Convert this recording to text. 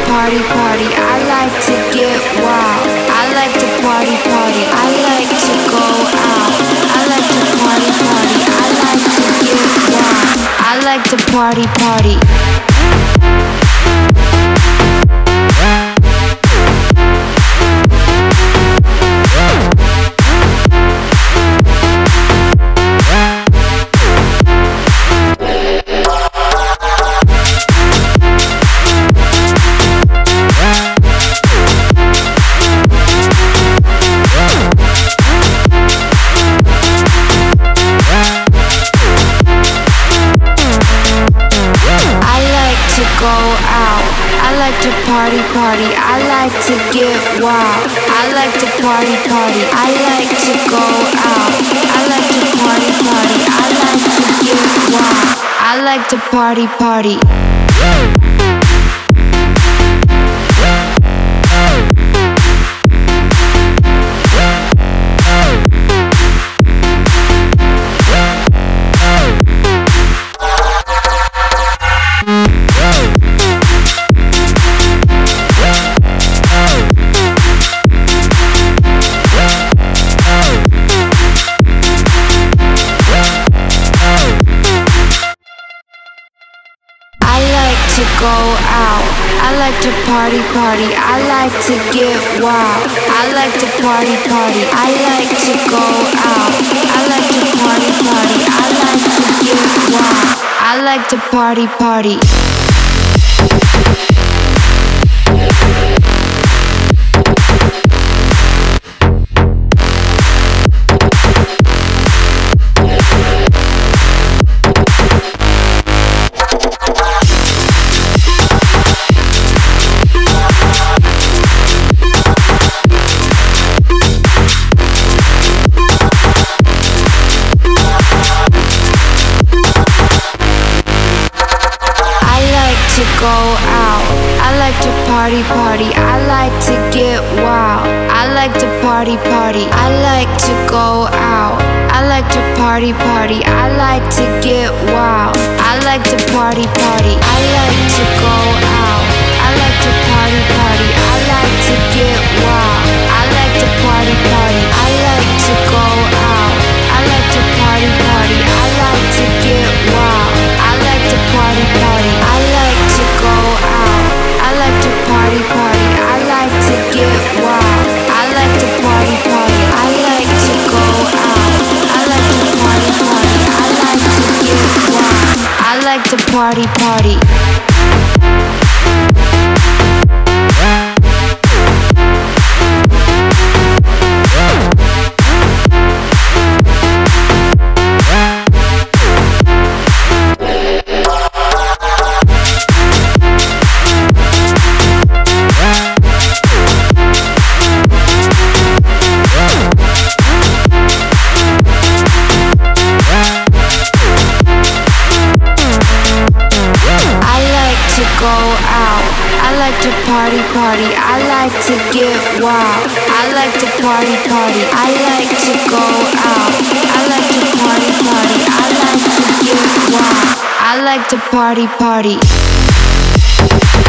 party party. I like to get wild. I like to party party. I like to go out. I like to party party. I like to get wild. I like to party party. Party party, I like to get wild. I like to party party. I like to go out. I like to party party. I like to get wild. I like to party party. Go out. I like to party party. I like to get wild. I like to party party. I like to go out. I like to party party. I like to get wild. I like to party party. Go out. I like to party party. I like to get wild. I like to party party. I like to go out. I like to party party. I like to get wild. I like to party party. I like to go out. I like to party party. I like to get wild. I like to party party. I like to go out. I like to party party. I like to get wild. I like to party party. I like to go out. I like to party party. I like to get wild. I like to party party. I like to go out. I like to party party. I like to get wild. I like to party party. Party party, I like to get wild. I like to party party. I like to go out. I like to party party. I like to get wild. I like to party party.